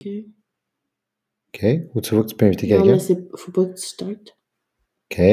OK. OK. Ou tu vois que tu peux inviter Non, mais quelqu'un? faut pas que tu startes.